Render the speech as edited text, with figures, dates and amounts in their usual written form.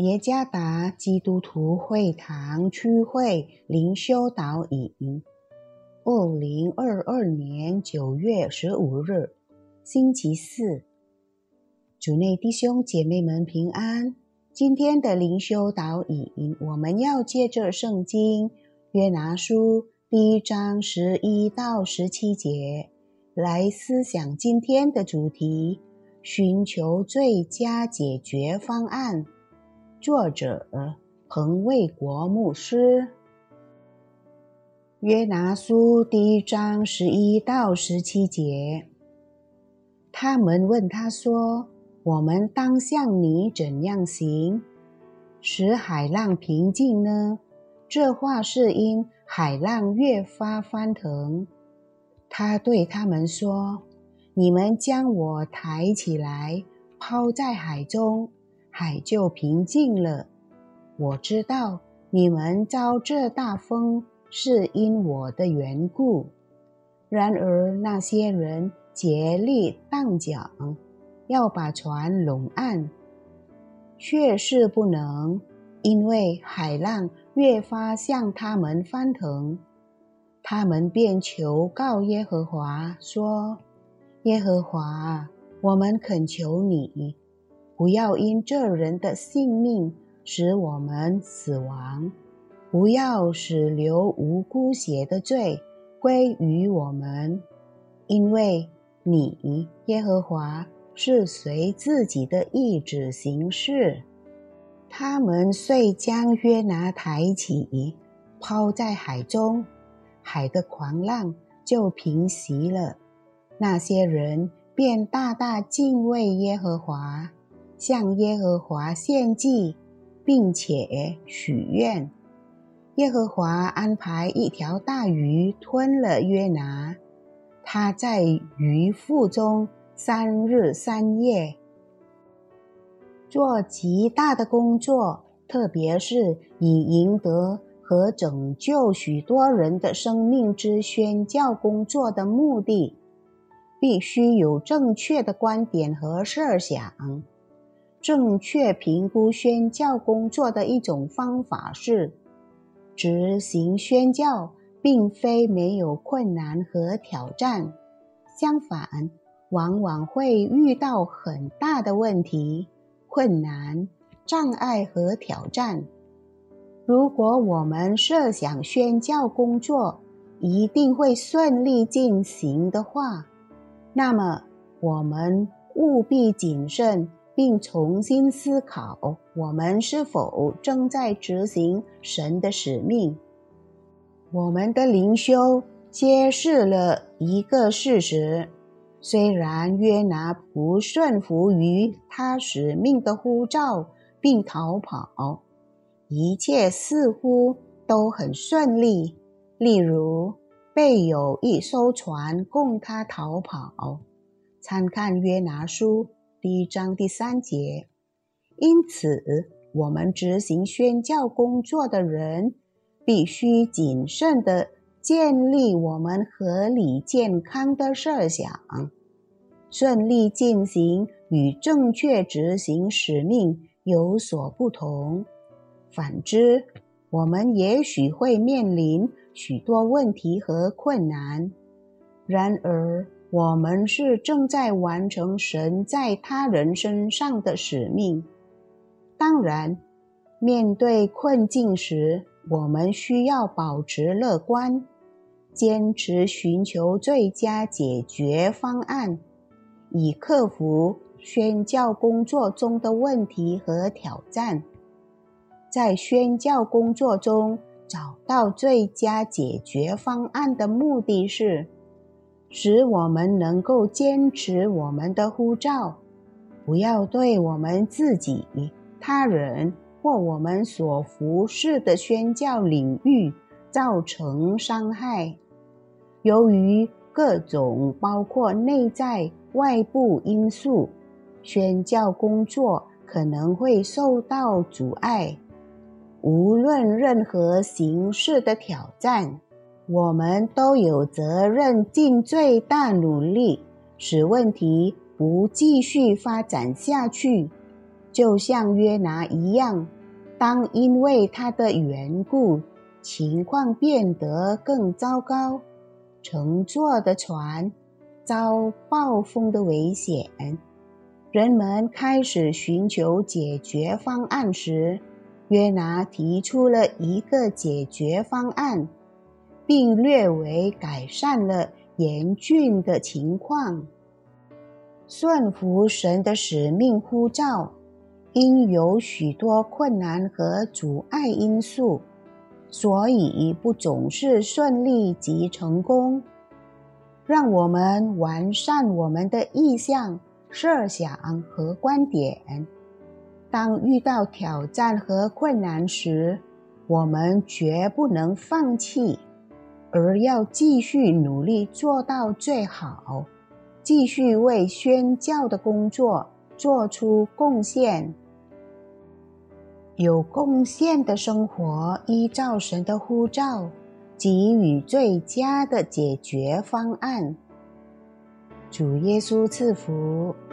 耶加达基督徒会堂区会灵修导引2022年9月15日星期四，主内弟兄姐妹们平安。今天的灵修导引，我们要借着圣经约拿书第1章11到17节来思想今天的主题，寻求最佳解决方案。作者彭卫国牧师。约拿书第1章11到17节，他们问他说：我们当向你怎样行，使海浪平静呢？这话是因海浪越发翻腾。他对他们说：你们将我抬起来，抛在海中，海就平静了。我知道你们遭这大风是因我的缘故。然而那些人竭力荡桨，要把船拢岸，却是不能，因为海浪越发向他们翻腾。他们便求告耶和华说：耶和华，我们恳求你，不要因这人的性命使我们死亡，不要使流无辜血的罪归于我们，因为你耶和华是随自己的意志行事。他们遂将约拿抬起，抛在海中，海的狂浪就平息了。那些人便大大敬畏耶和华，向耶和华献祭，并且许愿。耶和华安排一条大鱼吞了约拿，他在鱼腹中3日3夜，做极大的工作，特别是以赢得和拯救许多人的生命之宣教工作的目的。必须有正确的观点和设想。正确评估宣教工作的一种方法是，执行宣教并非没有困难和挑战，相反，往往会遇到很大的问题、困难、障碍和挑战。如果我们设想宣教工作一定会顺利进行的话，那么我们务必谨慎，并重新思考我们是否正在执行神的使命。我们的灵修揭示了一个事实，虽然约拿不顺服于他使命的呼召并逃跑，一切似乎都很顺利，例如备有一艘船供他逃跑，参看约拿书第1章第3节。因此，我们执行宣教工作的人必须谨慎地建立我们合理健康的设想。顺利进行与正确执行使命有所不同，反之，我们也许会面临许多问题和困难。然而，我们是正在完成神在他人身上的使命。当然，面对困境时，我们需要保持乐观，坚持寻求最佳解决方案，以克服宣教工作中的问题和挑战。在宣教工作中找到最佳解决方案的目的是，使我们能够坚持我们的呼召，不要对我们自己、他人或我们所服侍的宣教领域造成伤害。由于各种包括内在、外部因素，宣教工作可能会受到阻碍。无论任何形式的挑战，我们都有责任尽最大努力，使问题不继续发展下去。就像约拿一样， 当因为它的缘故，情况变得更糟糕，乘坐的船遭暴风的危险，人们开始寻求解决方案时，约拿提出了一个解决方案，并略微改善了严峻的情况。顺服神的使命呼召，因有许多困难和阻碍因素，所以不总是顺利及成功。让我们完善我们的意向、设想和观点。当遇到挑战和困难时，我们绝不能放弃，而要继续努力做到最好，继续为宣教的工作做出贡献。有贡献的生活，依照神的呼召，给予最佳的解决方案。主耶稣赐福。